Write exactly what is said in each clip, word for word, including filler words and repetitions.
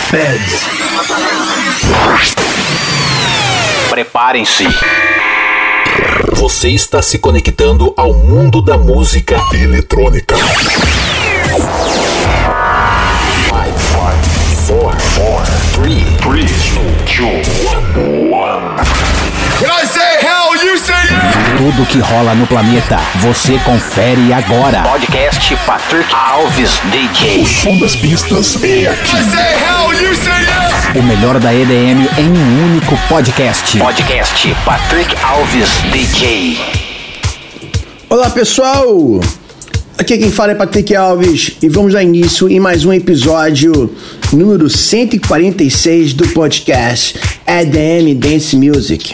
Feds. Preparem-se. Você está se conectando ao mundo da música eletrônica. quatro, três, dois, um. When I say hell, you say yeah! Tudo que rola no planeta, você confere agora. Podcast Patrick Alves D J. O som das pistas é aqui. I say hell, you say yeah! O melhor da E D M em um único podcast. Podcast Patrick Alves D J. Olá pessoal, aqui quem fala é Patrick Alves e vamos dar início em mais um episódio número cento e quarenta e seis do podcast E D M Dance Music.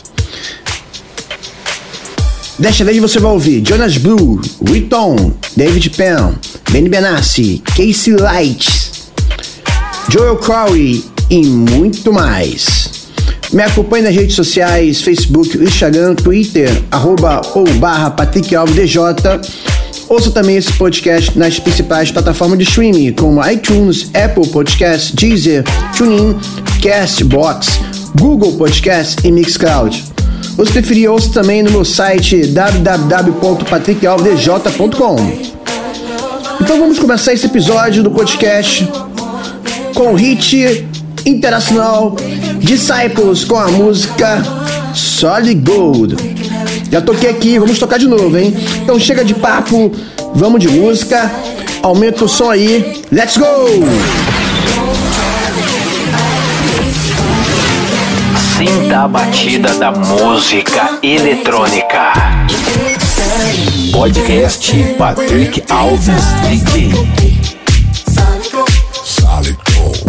Desta vez você vai ouvir Jonas Blue, Riton, David Penn, Benny Benassi, Casey Lights, Joel Corey e muito mais. Me acompanhe nas redes sociais, Facebook, Instagram, Twitter, arroba ou barra Patrick Alves D J. Ouça também esse podcast nas principais plataformas de streaming, como iTunes, Apple Podcasts, Deezer, TuneIn, Castbox, Google Podcasts e Mixcloud. Ou se preferir, ouça também no meu site w w w ponto patrick alves d j ponto com. Então vamos começar esse episódio do podcast com o hit internacional Disciples com a música Solid Gold. Já toquei aqui, vamos tocar de novo, hein? Então chega de papo, vamos de música, aumenta o som aí, let's go! Sinta a batida da música eletrônica. Podcast Patrick Alves D J. Solid Gold.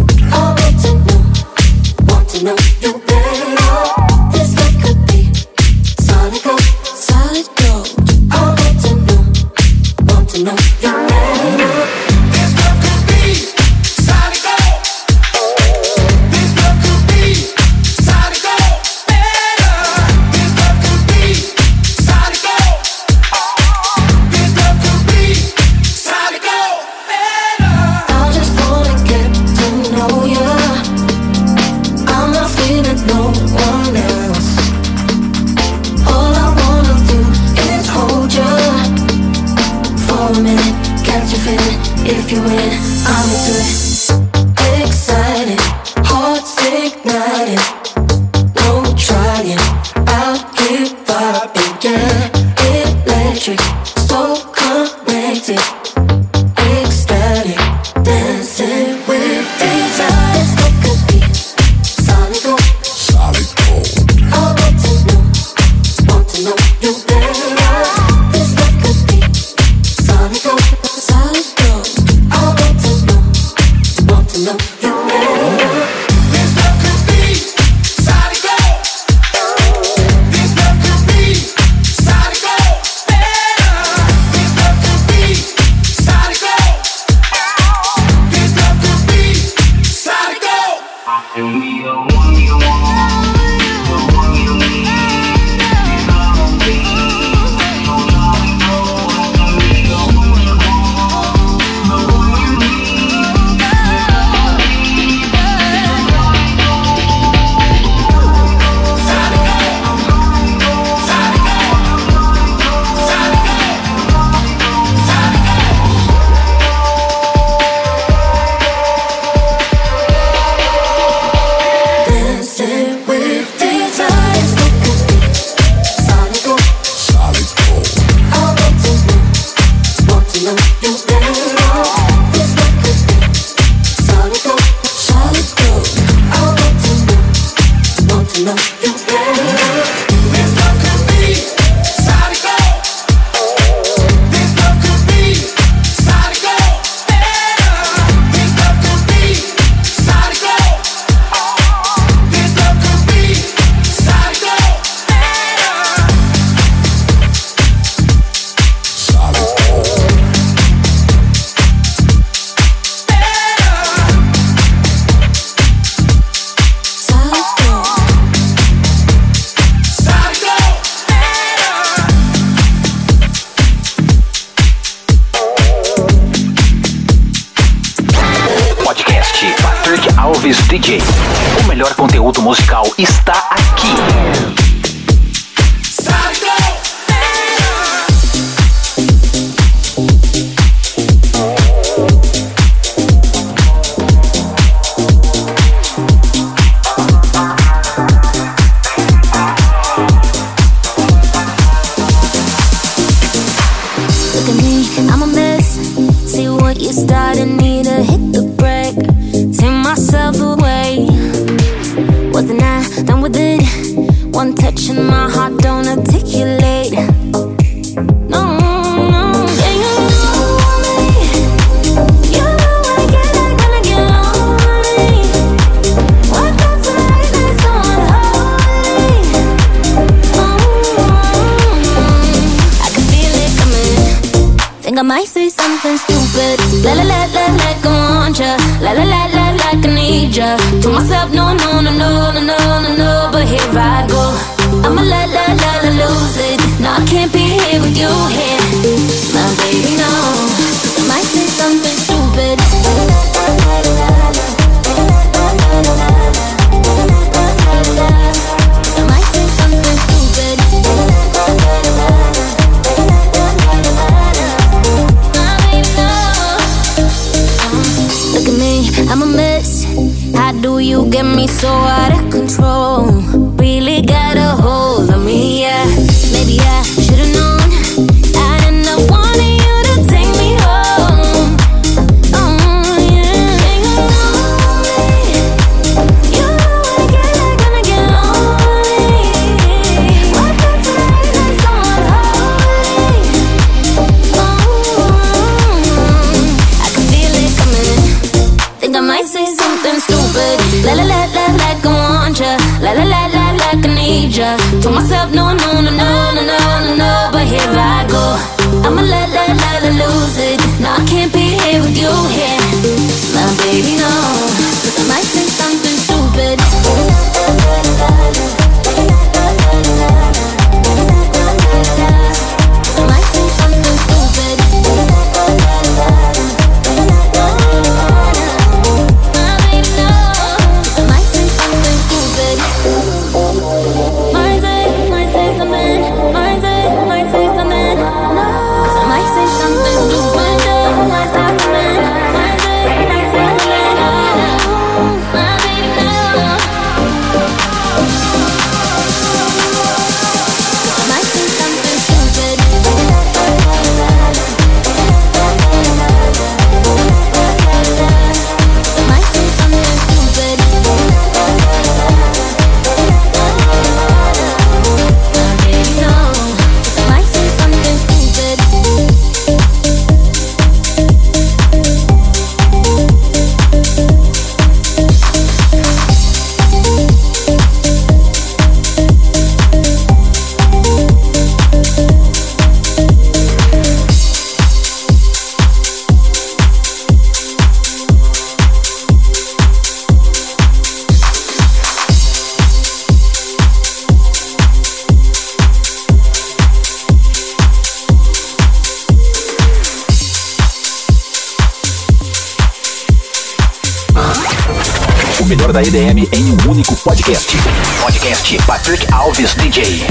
Alves D J. O melhor conteúdo musical está aqui. I'm a mess. See what you started, need to hit the brake. Take myself away. Wasn't I done with it? One touch and my heart don't articulate. No, no, yeah, you know me. You know I get it, gonna get lonely. What got tonight that's so unholy? Oh, I can feel it coming. Think I might say something stupid. La la la la like I want ya. La la la la like I need ya. To myself, no no no no no no no no. But here I go. I'ma la la la la lose it. No, I can't be here with you here. My baby, no. I might say something stupid. I might say something stupid. Look at me, I'm a mess. How do you get me so out of control? Really got a hold of me, yeah. Maybe I should've known. I'd end up wanting you to take me home. Oh, yeah. You know me. You know I get it, gonna get lonely. What got tonight that's so unholy? Oh, I can feel it coming. Think I might say something stupid. La la la la like I want ya. La la la la like I need ya. Told myself no no no no no no no no. But here I go. I'ma la la la la lose it. No, I can't be here with you here. My baby, no. 'Cause I might say something stupid. I might say something stupid. O melhor da E D M em um único podcast. Podcast Patrick Alves D J.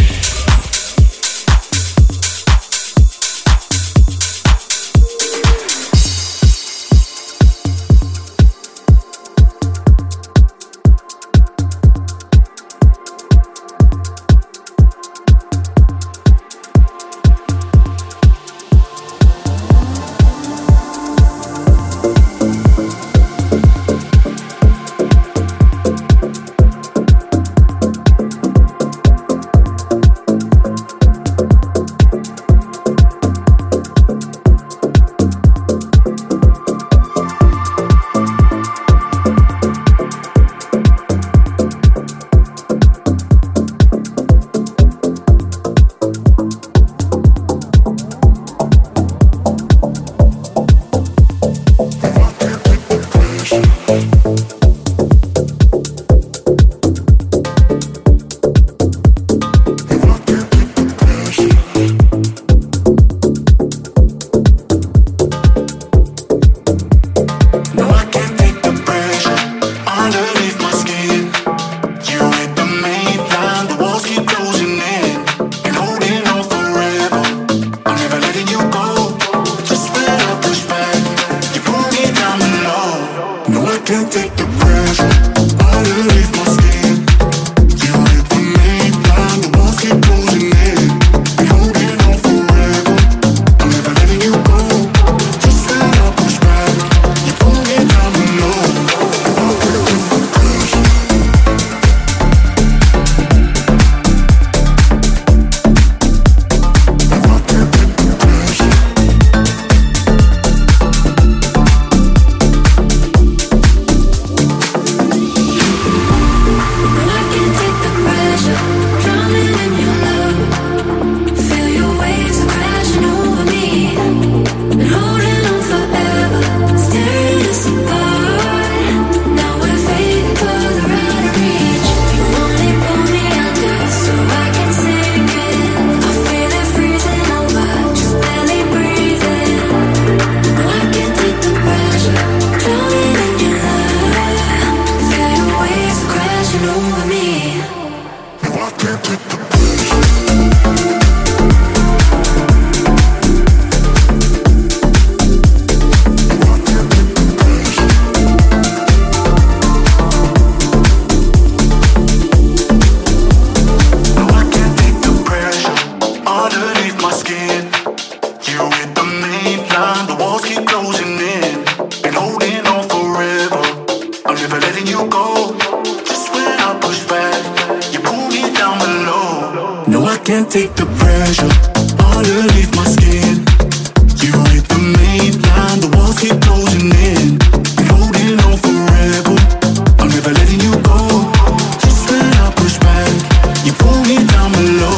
can't take the pressure underneath my skin. You hit the main line, the walls keep closing in. Been holding on forever, I'm never letting you go. Just when I push back, you pull me down below.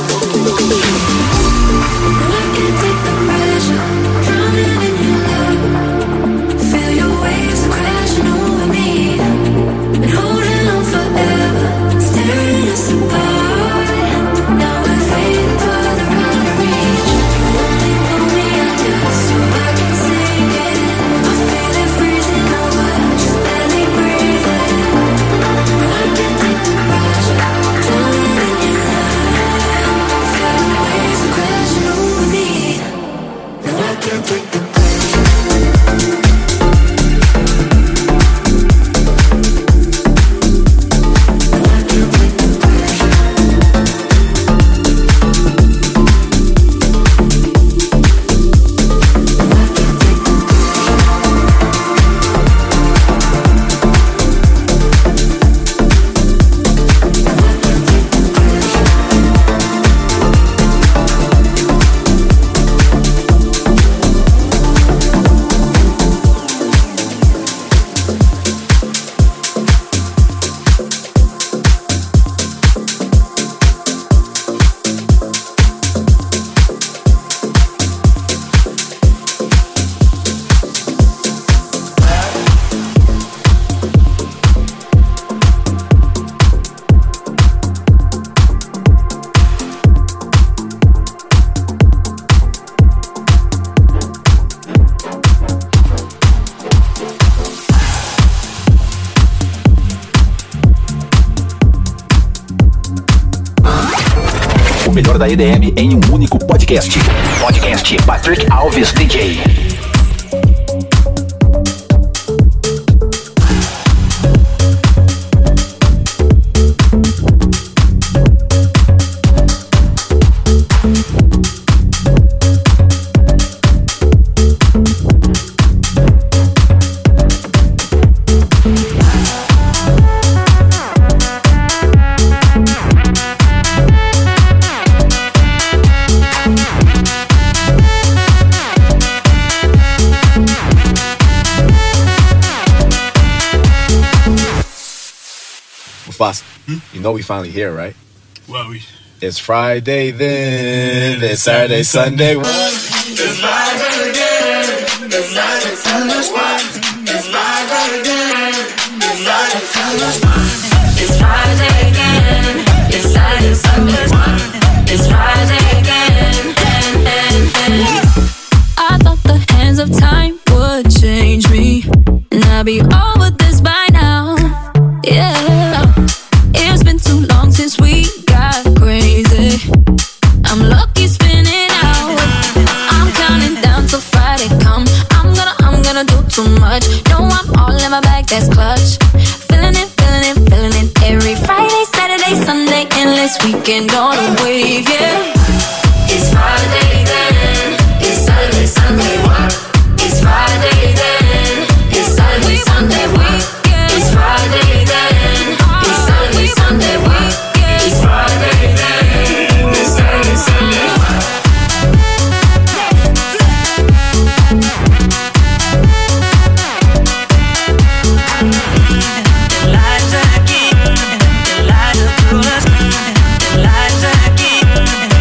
I can't take the pressure, drowning in your love. Feel your waves are crashing over me. Been holding on forever, staring us apart. Now we're fading further out of reach. Only pull me out just so I can sink it. I feel it freezing over, just barely breathing. I can't take the pressure, drowning in your love. Feel your waves are crashing over me. No, I can't take the pressure. O melhor da E D M em um único podcast. Podcast Patrick Alves D J. Boss, hmm? You know we finally here, right? Well, we... It's Friday then, it's Saturday, Sunday. What? It's Friday again, it's Friday, Sunday. It's Friday again, it's Friday, Sunday. It's Friday again, it's Saturday, Sunday. It's Friday again, and, and, and. I thought the hands of time would change me, and I'd be over this by now. Yeah, it's been too long since we got crazy. I'm lucky spinning out. I'm counting down till Friday come. I'm gonna, I'm gonna do too much. No, I'm all in my bag, that's clutch. Feeling it, feeling it, feeling it. Every Friday, Saturday, Sunday, endless weekend on a wave, yeah. It's Friday then, it's Saturday, Sunday. It's Friday then, it's Saturday, Sunday. It's Friday then, it's Saturday, Sunday. It's Friday then, it's Saturday, Sunday. Elijah King, Elijah King, Elijah King.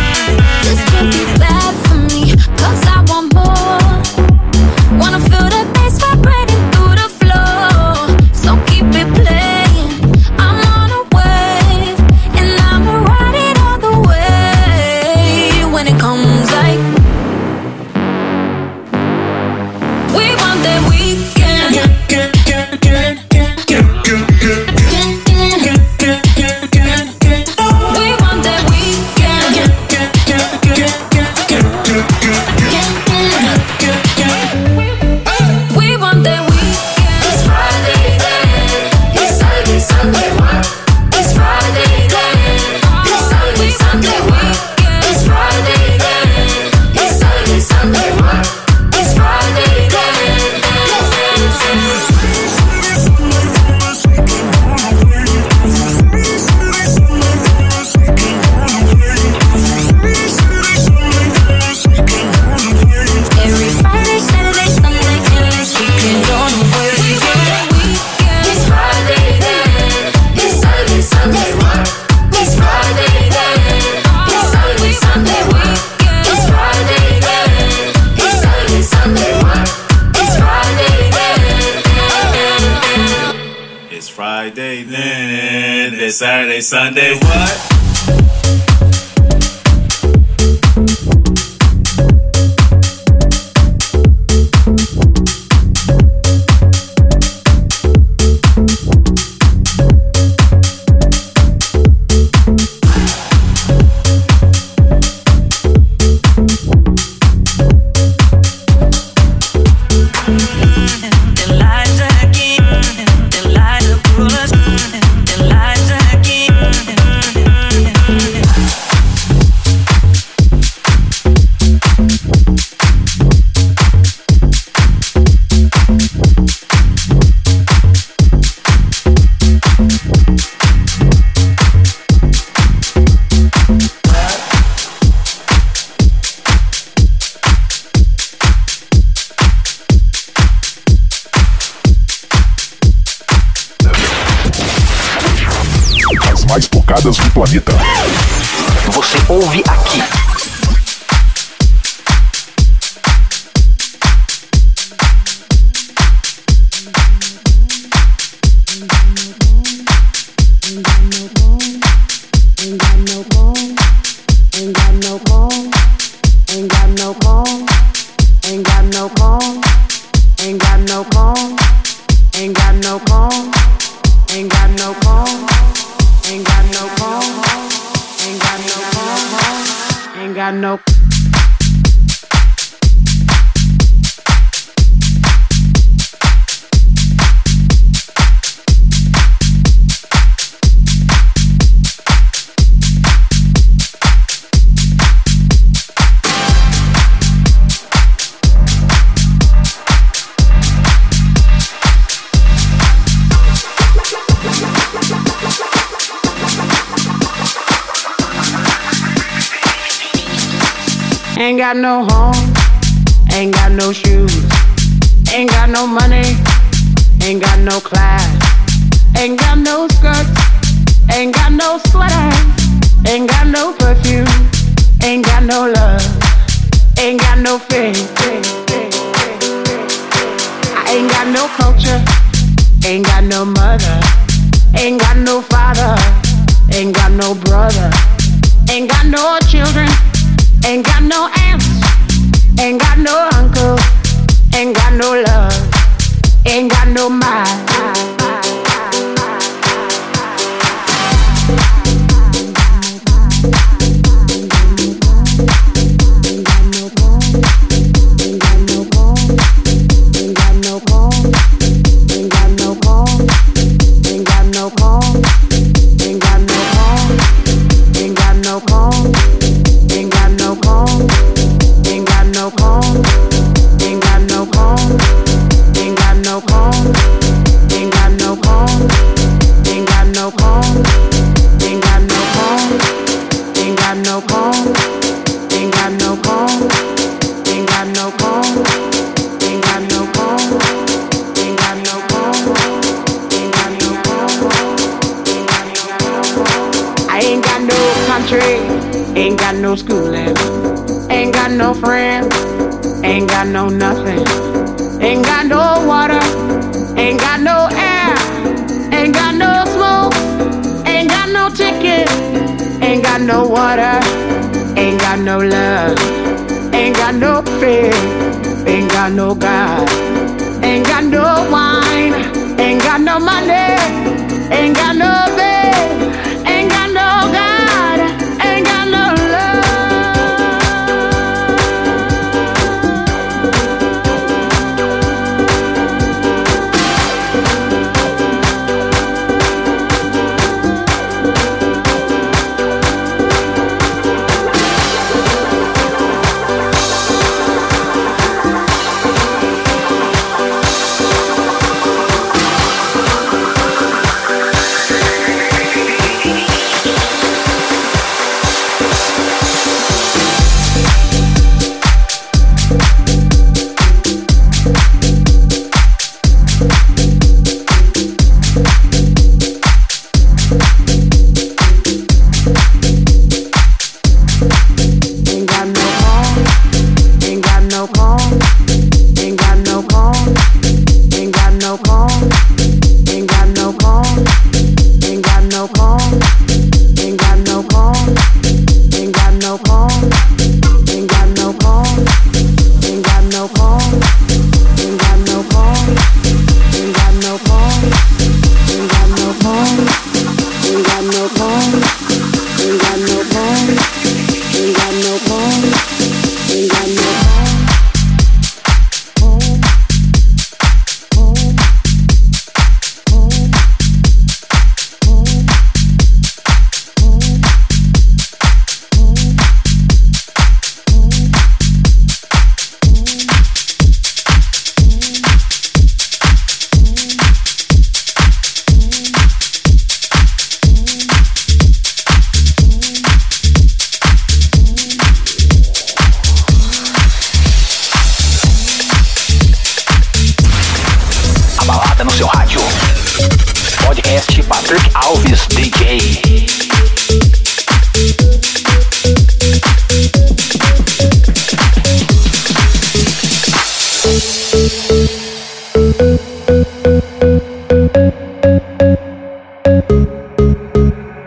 Okay, then this Saturday, Sunday, what? mais tocadas do planeta. Você ouve aqui. Ain't got no home, ain't got no shoes, ain't got no money, ain't got no class, ain't got no skirts, ain't got no sweater, ain't got no perfume, ain't got no love, ain't got no faith. I ain't got no culture, ain't got no mother, ain't got no father, ain't got no brother, ain't got no children. Ain't got no aunts, ain't got no uncle, ain't got no love, ain't got no mind. Ain't got no schooling, ain't got no friends, ain't got no nothing, ain't got no water, ain't got no air, ain't got no smoke, ain't got no ticket, ain't got no water, ain't got no love, ain't got no faith, ain't got no God, ain't got no wine, ain't got no money, ain't got no bed, ain't got no God.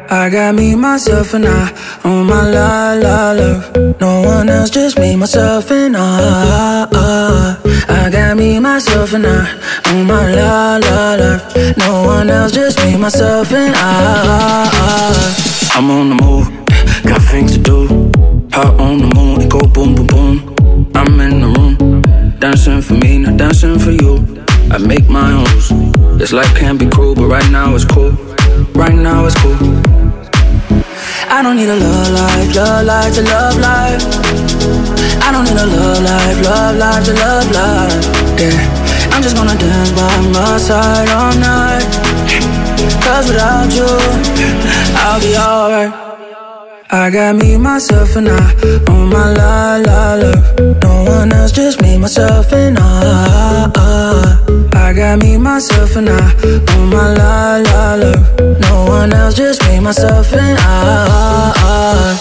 I got me, myself, and I on my la la love. No one else, just me, myself, and I. I got me, myself, and I on my la la love. No one else, just me, myself, and I. I'm on the move, got things to do. Hot on the moon, it go boom, boom, boom. I'm in the room, dancing for me, not dancing for you. I make my own rules. This life can be cruel, but right now it's cool. Right now it's cool. I don't need a love life, love life to love life. I don't need a love life, love life to love life. Yeah, I'm just gonna dance by my side all night. Cause without you, I'll be alright. I got me, myself, and I on my la la love. No one else, just me, myself, and I. I got me, myself, and I on my la la love. No one else, just me, myself, and I.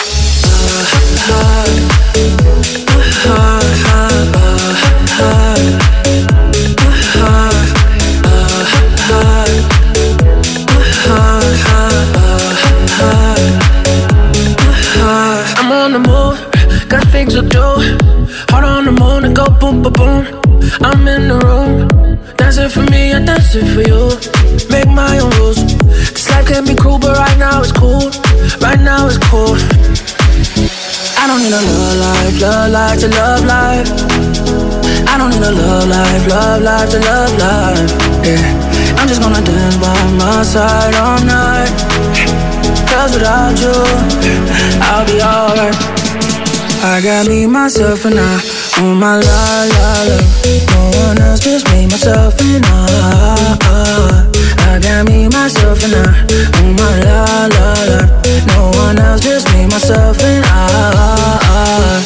I'm on the move, got things to do. Heart on the moon, and go boom, boom, boom. I'm in the room, dancing for me, I dance it for you. Make my own rules. This life can be cruel, but right now it's cool. Right now it's cool. I don't need a love life, love life to love life. I don't need a love life, love life to love life. Yeah, I'm just gonna dance by my side all night. Cause without you, I'll be alright. I got me, myself, and I on my la la la. No one else, just me, myself, and I. I got me, myself, and I on my la la la. No one else, just me, myself, and I.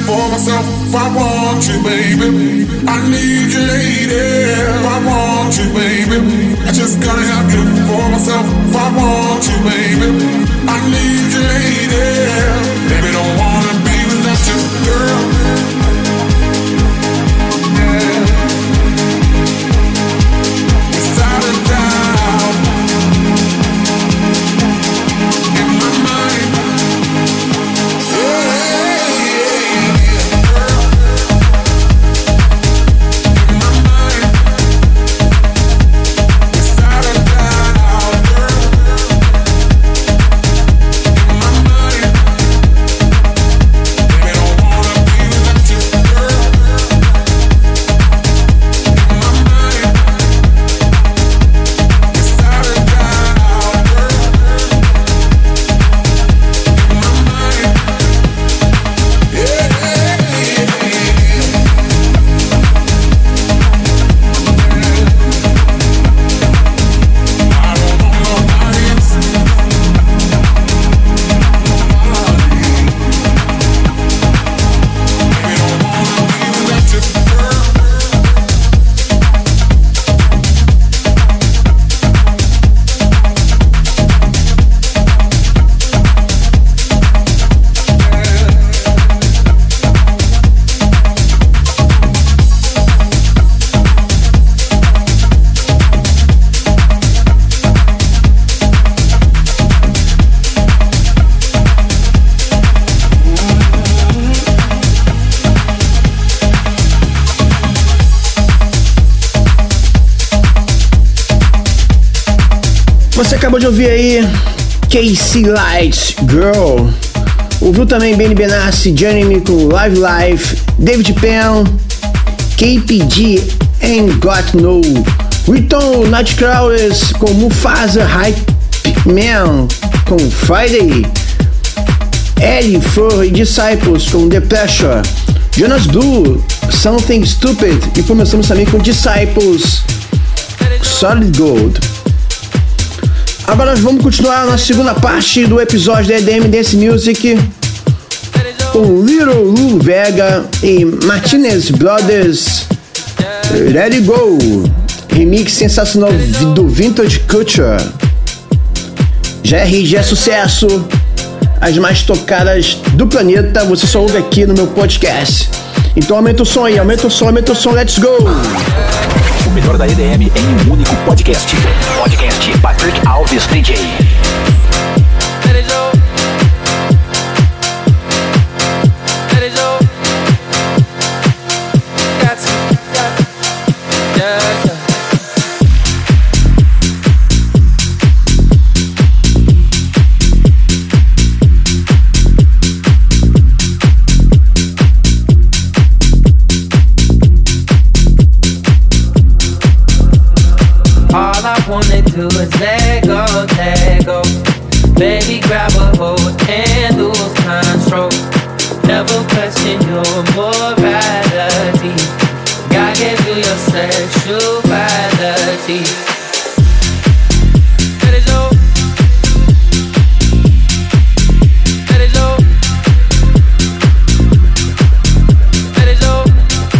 for myself if I want you, baby. I need you, lady, if I want you, baby. I just gotta have you for myself if I want you, baby. I need you, lady. Baby, don't wanna be without you, girl. Você acabou de ouvir aí Casey Lights, Girl. Ouviu também Benny Benassi, Jeremy com Live Life, David Penn, K P G, Ain't Got No, Riton Nightcrawlers com Mufasa, Hype Man com Friday, Ellie Flor e Disciples com The Pressure, Jonas Blue, Something Stupid, e começamos também com Disciples, Solid Gold. Agora nós vamos continuar na segunda parte do episódio da E D M Dance Music com Little Lou Vega e Martinez Brothers, Let It Go, remix sensacional do Vintage Culture. G R G é sucesso, as mais tocadas do planeta você só ouve aqui no meu podcast. Então aumenta o som aí, aumenta o som, aumenta o som, let's go! O melhor da E D M em um único podcast. Podcast Patrick Alves D J. Do is let go, let go. Baby, grab a hold and lose control. Never question your morality. God gave you your sexuality. Let it go. Let it go. Let it go.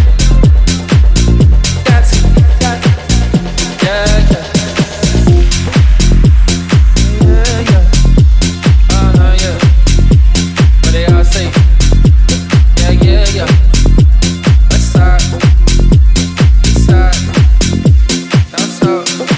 Got to, got to. Yeah, yeah. West side, east side, down south.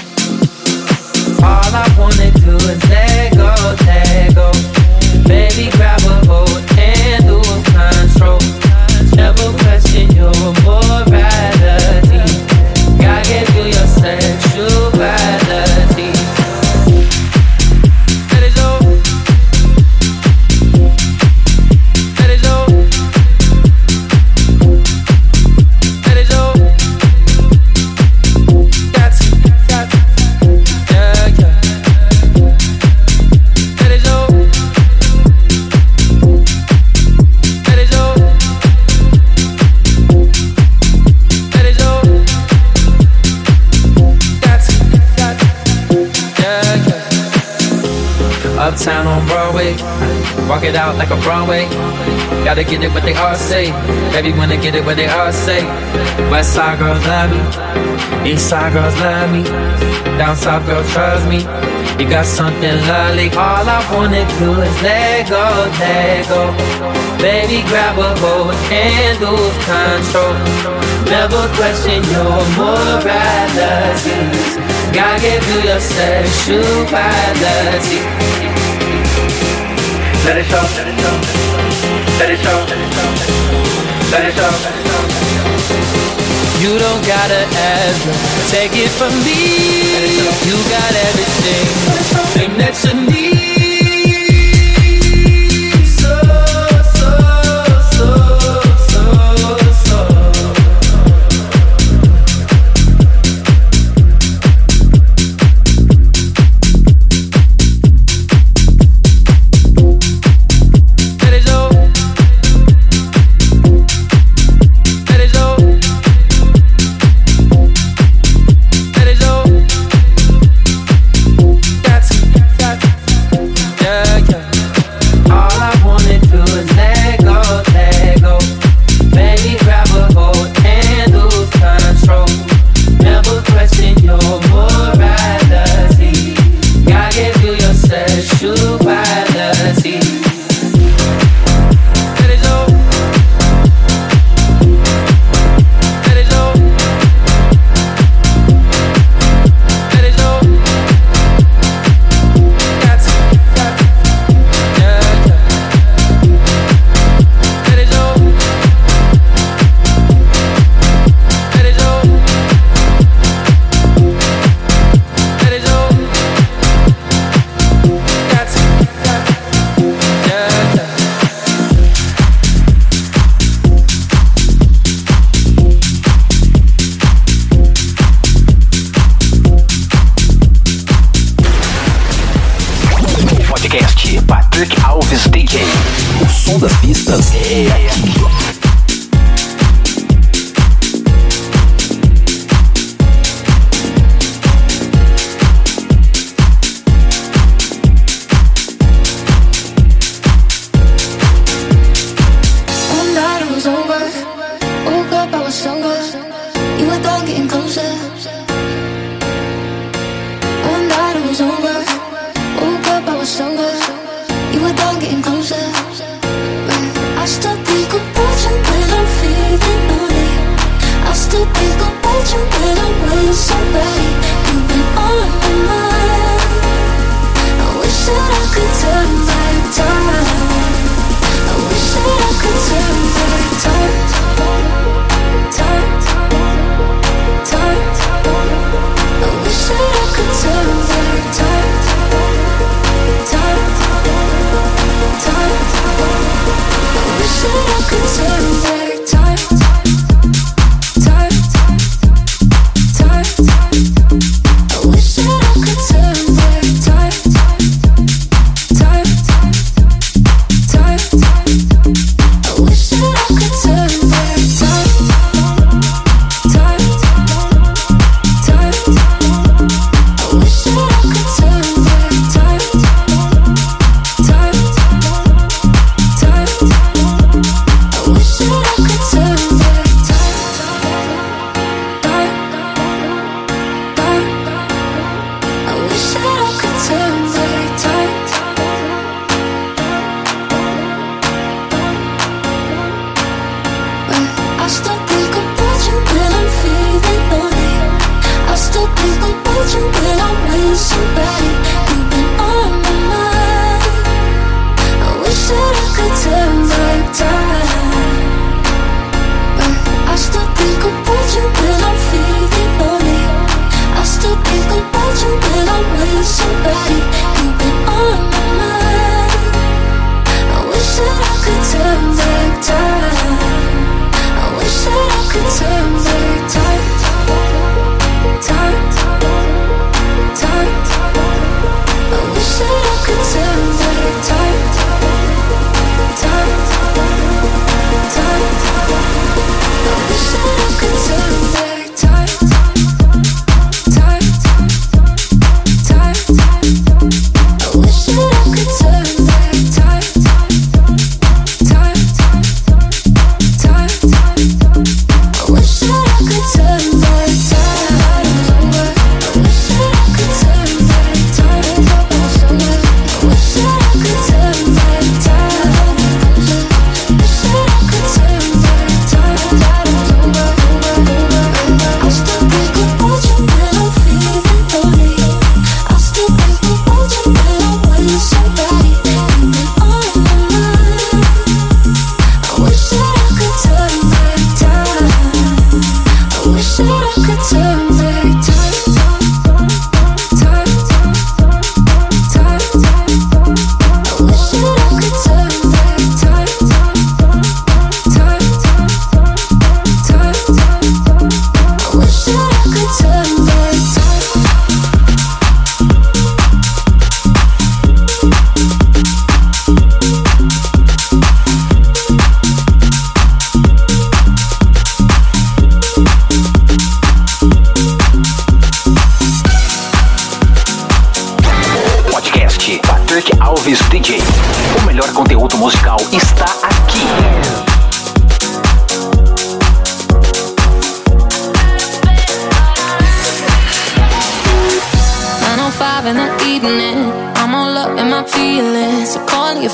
Walk it out like a Broadway. Gotta get it what they all say. Baby wanna get it what they all say. West side girls love me. East side girls love me. Down south girls trust me. You got something lovely. All I wanna do is let go, let go. Baby grab a hold and lose control. Never question your morality. God gave you your sexuality. Let it show, let it show, let it show, let it show. You don't gotta ever take it from me. You got everything that you need. So, so, so, so, so.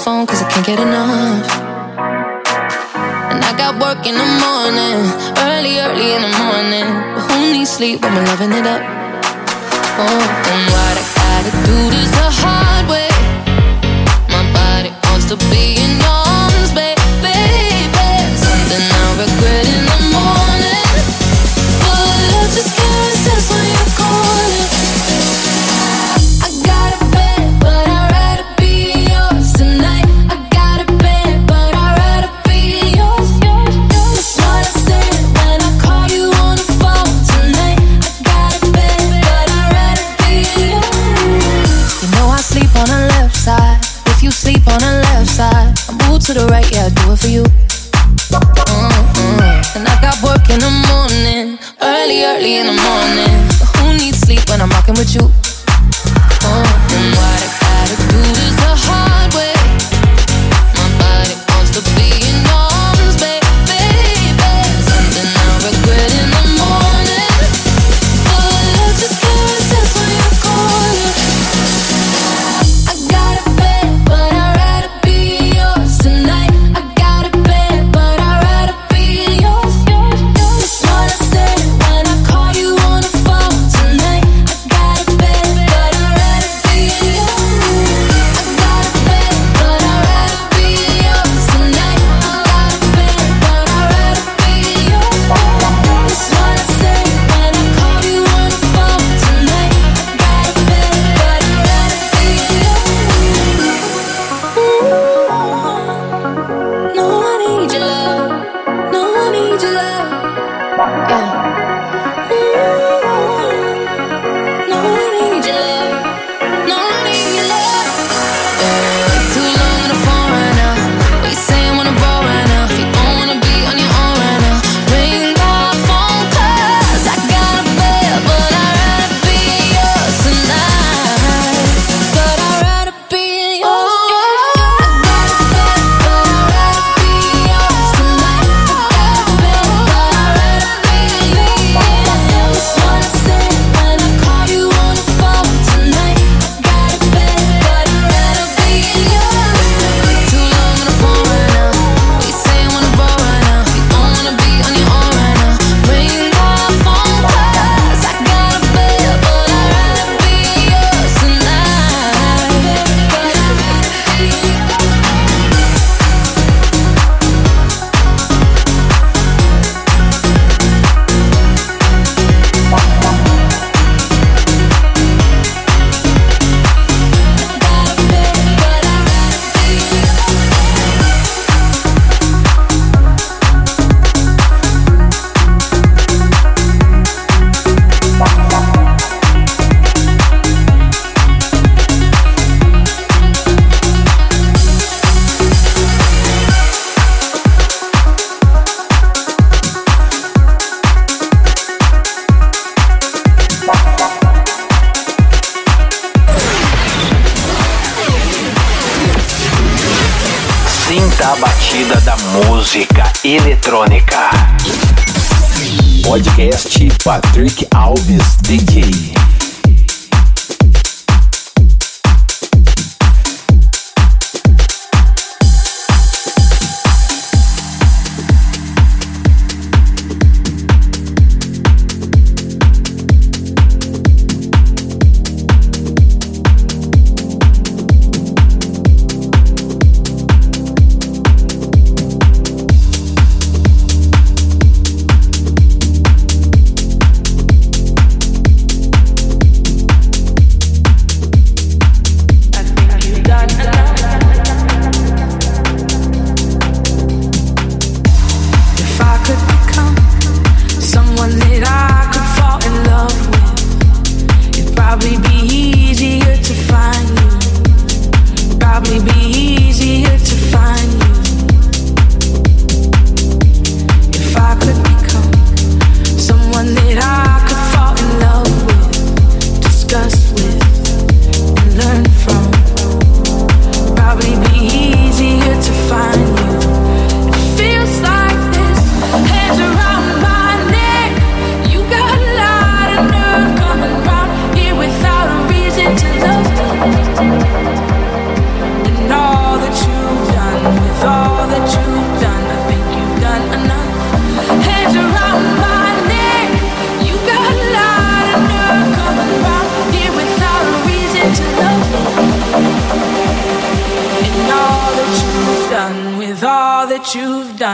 phone cause I can't get enough. And I got work in the morning, early, early in the morning. But who needs sleep when we're loving it up? Oh, and what I gotta do this the hard way. My body wants to be in your arms, baby, baby. Something I regret in the morning, but I just can't resist when you're calling. I got a bed, but I'd rather be yours tonight. I got a bed, but I'd rather be yours. That's what I said when I called you on the phone tonight. I got a bed, but I'd rather be yours. You know I sleep on the left side. If you sleep on the left side, I move to the right, yeah, I do it for you. Mm-mm. And I got work in the morning, early, early in the morning. But who needs sleep when I'm rocking with you? Oh, and what I gotta do is the hard way. My body wants to be in your arms, baby, baby. Something I regret in the morning, but I just can't resist when you're calling. I got a bed, but I'd rather be yours tonight. I got a bed, but I'd rather be yours. That's what I said when I called you on the phone tonight. I got a bed, but I'd rather be yours. I got a bed, but I'd rather be yours tonight. I got a bed, but I'd rather be yours. That's what I said when I called you on the phone tonight. I got a bed, but I'd rather be yours. No, I need your love. No, I need your love. Yeah. No, I need your love. No, I need your love. Yeah. Too long on the phone right now. What you saying when I'm bored right now? If you don't wanna be on your own right now, ring my phone cause I got a bed, but I'd rather be yours tonight. But I'd rather be yours. I got a bed, but I'd rather be yours tonight. I got a bed, but I'd rather be yours. That's what I said when I called you on the phone tonight. I got a bed, but I'd rather be yours. Too long on the phone right now. What you saying when I'm bored right now? If you don't wanna be on your own right now, ring my phone cause I got a bed, but I'd rather be yours tonight. But I'd rather be Sinta a batida da música eletrônica. Podcast Patrick Alves D J.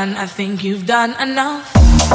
done, I think you've done enough.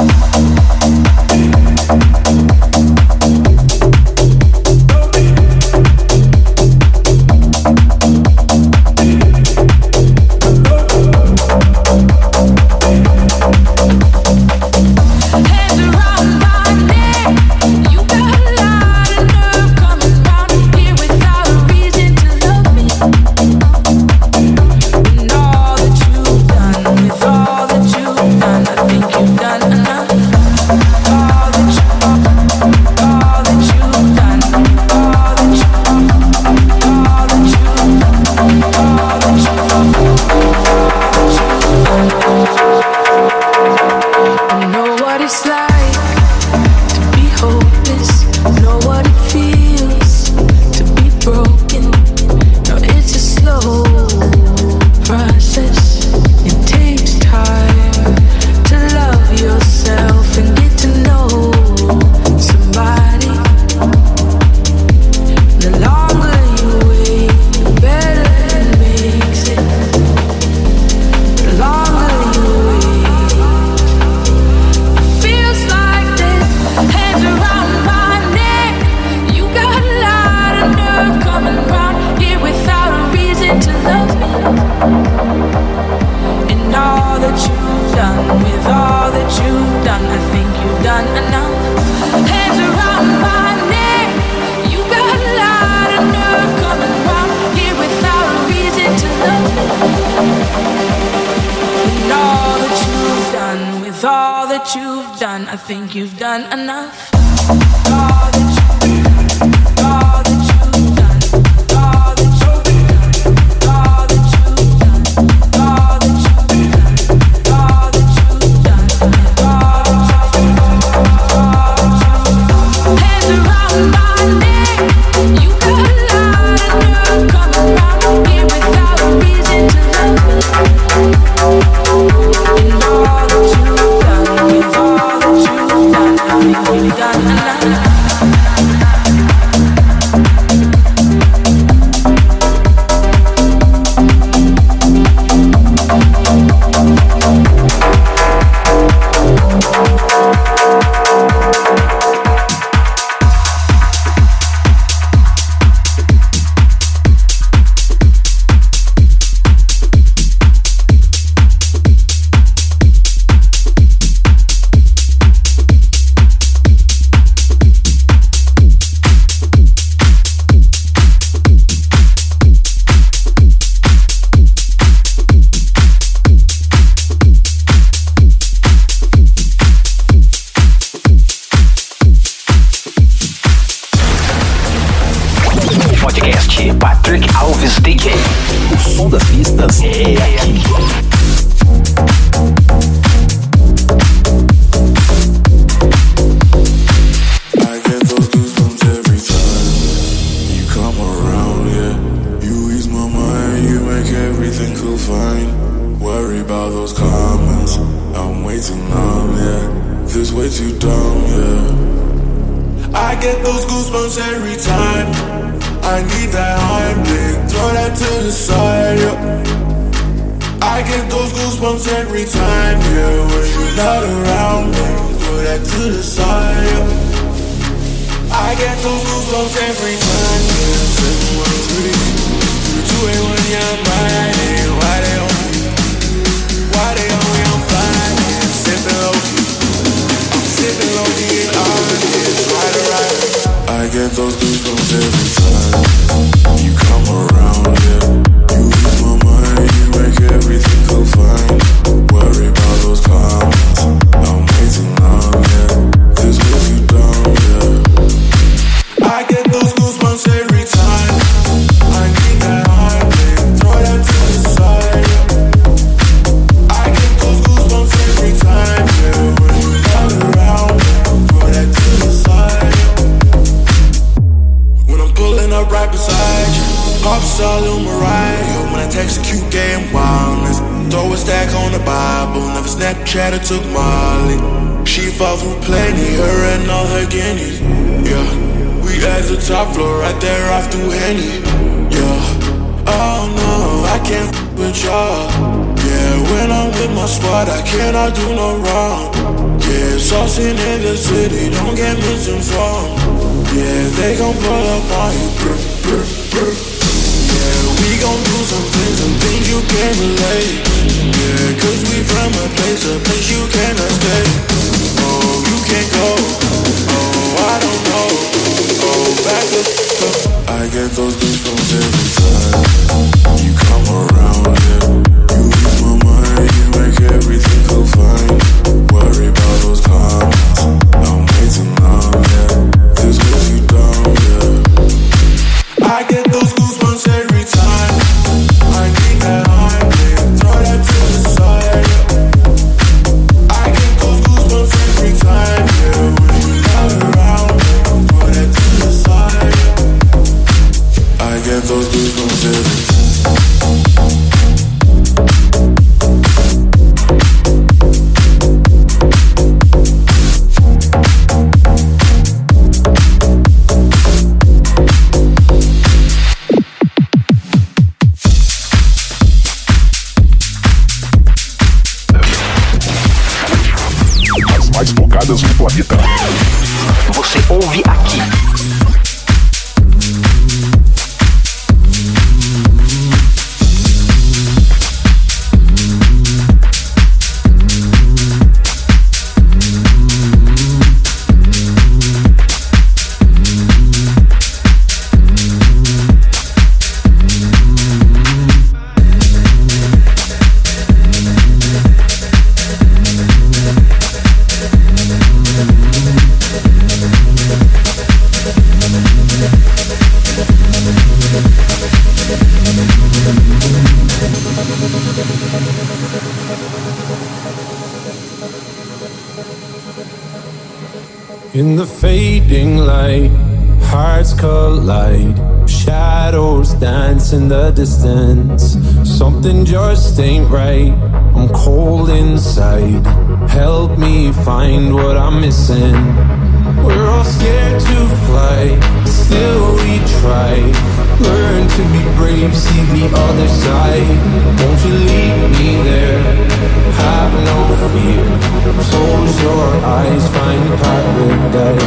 Chatter took Molly. She fought through plenty, her and all her guineas. Yeah, we at the top floor, right there off through Henny. Yeah, oh no, I can't f with y'all. Yeah, Yeah, when I'm with my squad, I cannot do no wrong. Yeah, saucing in the city, don't get misinformed. Yeah, they gon' pull up on you. Brr, brr, brr. Yeah, we gon' do some things, some things you can't relate. Yeah, cause we from a place, a place you cannot stay. Oh, you can't go. Oh, I don't know. Oh, back up. I get those goosebumps every time you come around, yeah. You ease my mind, you make everything feel fine. Worry about those comments, I'm waiting now, yeah. This goes you down, yeah. I get those goosebumps every time I need that high, yeah. Throw that to the side, yeah. I get those goosebumps every time, yeah. When you come around, yeah. Throw that to the side, yeah. I get those goosebumps every time. Mais tocadas no planeta. Você ouve aqui. In the fading light, hearts collide. Shadows dance in the distance. Something just ain't right. I'm cold inside. Help me find what I'm missing. We're all scared to fly, still we try. Learn to be brave, see the other side. Won't you lead me there? Have no fear. Close your eyes, find paradise.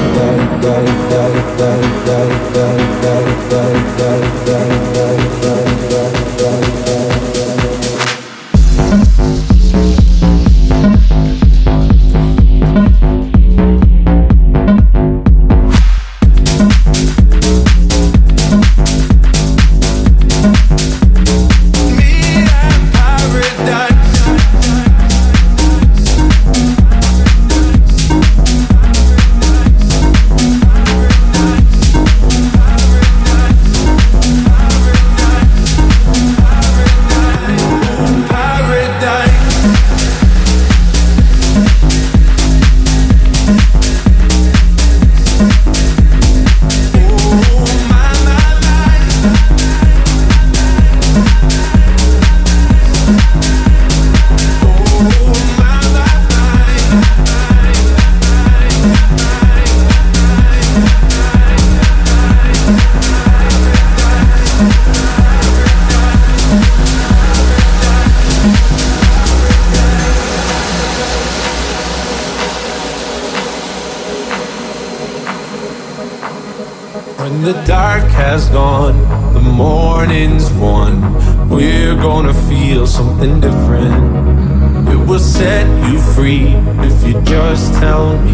When the dark has gone, the morning's won. We're gonna feel something different. It will set you free if you just tell me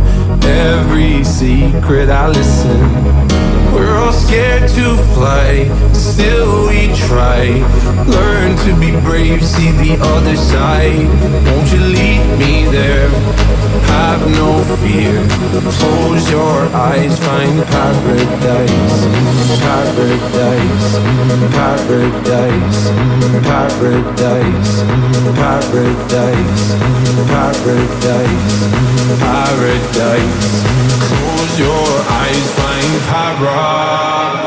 every secret. I listen. We're all scared to fly, still we try. Learn to be brave, see the other side. Won't you lead me there? Have no fear. Close your eyes, find paradise. Paradise, paradise, paradise, paradise, paradise, paradise. Close your eyes, find paradise.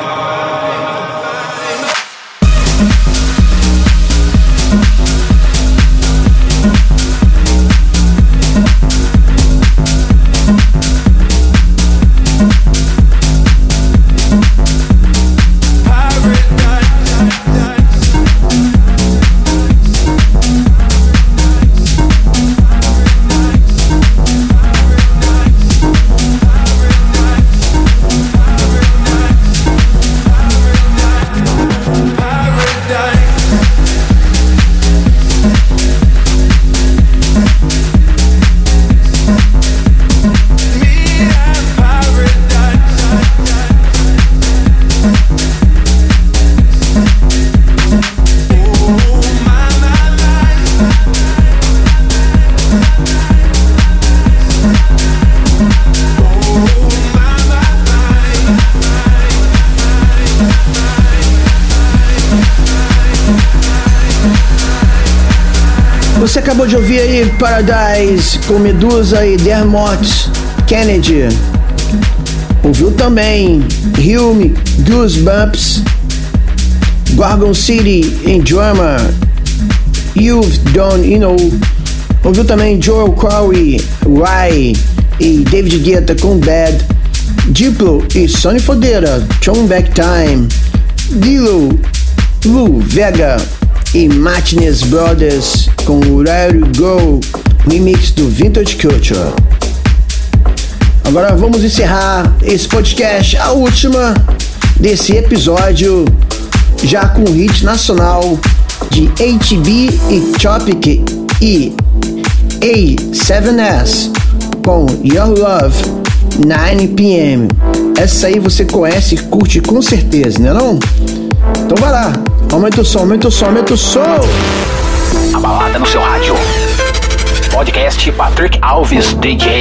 Você acabou de ouvir aí Paradise com Medusa e Dermot Kennedy. Ouviu também Hume, Goosebumps, Gorgon City em Drama, You've Done You Know. Ouviu também Joel Corey, Rye e David Guetta com Bad, Diplo e Sonny Fodera, Turn Back Time, Dilo, Lou Vega e Martinez Brothers com Where You Go, remix do Vintage Culture. Agora vamos encerrar esse podcast, a última desse episódio, já com o hit nacional de H B e Topic e A sete S com Your Love nove p m Essa aí você conhece e curte com certeza, né não? Então vai lá, aumenta o som, aumenta o som, aumenta o som. A balada no seu rádio. Podcast Patrick Alves D J.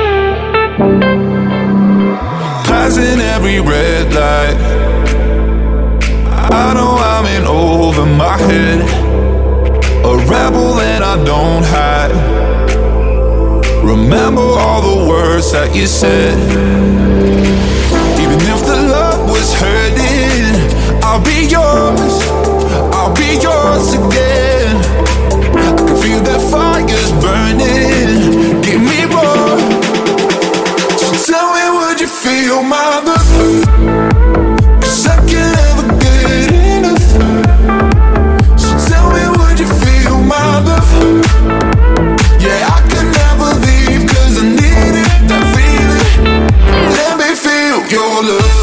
Passing every red light, I know I'm in over my head, a rebel and I don't hide. Remember all the words that you said. Even if the love was hurting, I'll be yours, I'll be yours again. I can feel that fire's burning, give me more. So tell me, would you feel my love? Cause I can't ever get enough. So tell me, would you feel my love? Yeah, I can never leave cause I need it, that feeling. Let me feel your love.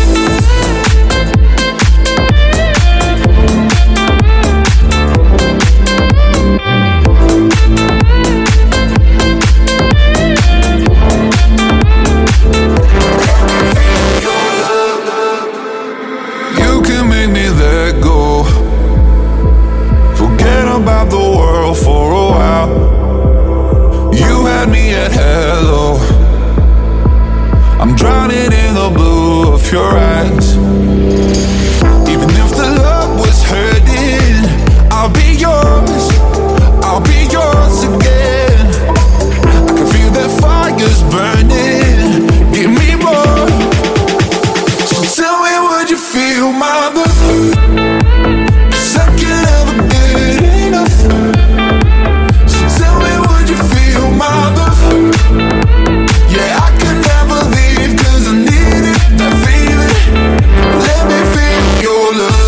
About the world for a while. You had me at hello. I'm drowning in the blue of your eyes. Even if the love was hurting, I'll be yours, I'll be yours again. I can feel that fire's burning, give me more. So tell me, would you feel my love? Cause I can't ever get enough. So tell me, would you feel my love? Yeah, I can never leave cause I need it, that feeling. Let me feel your love.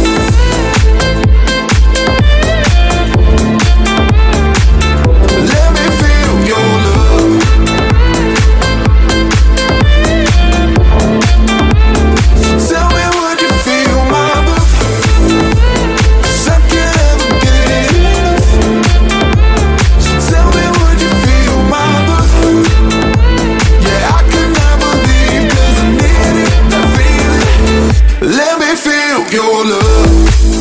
Let me feel your love. So tell me, would you feel my love? Cause I can't ever get enough. So tell me, would you feel my love? Yeah, I can never leave cause I need it, that feeling. Let me feel your love.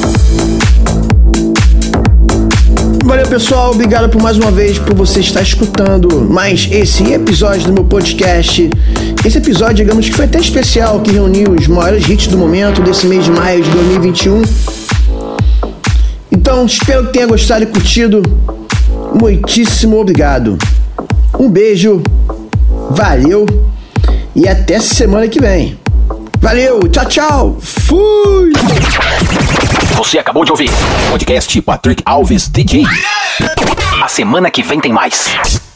Valeu pessoal, obrigado por mais uma vez por você estar escutando mais esse episódio do meu podcast. Esse episódio, digamos que foi até especial, que reuniu os maiores hits do momento desse mês de maio de dois mil e vinte e um. Então, espero que tenha gostado e curtido. Muitíssimo obrigado. Um beijo, valeu e até semana que vem. Valeu, tchau, tchau, fui! Você acabou de ouvir Podcast Patrick Alves D J. A semana que vem tem mais.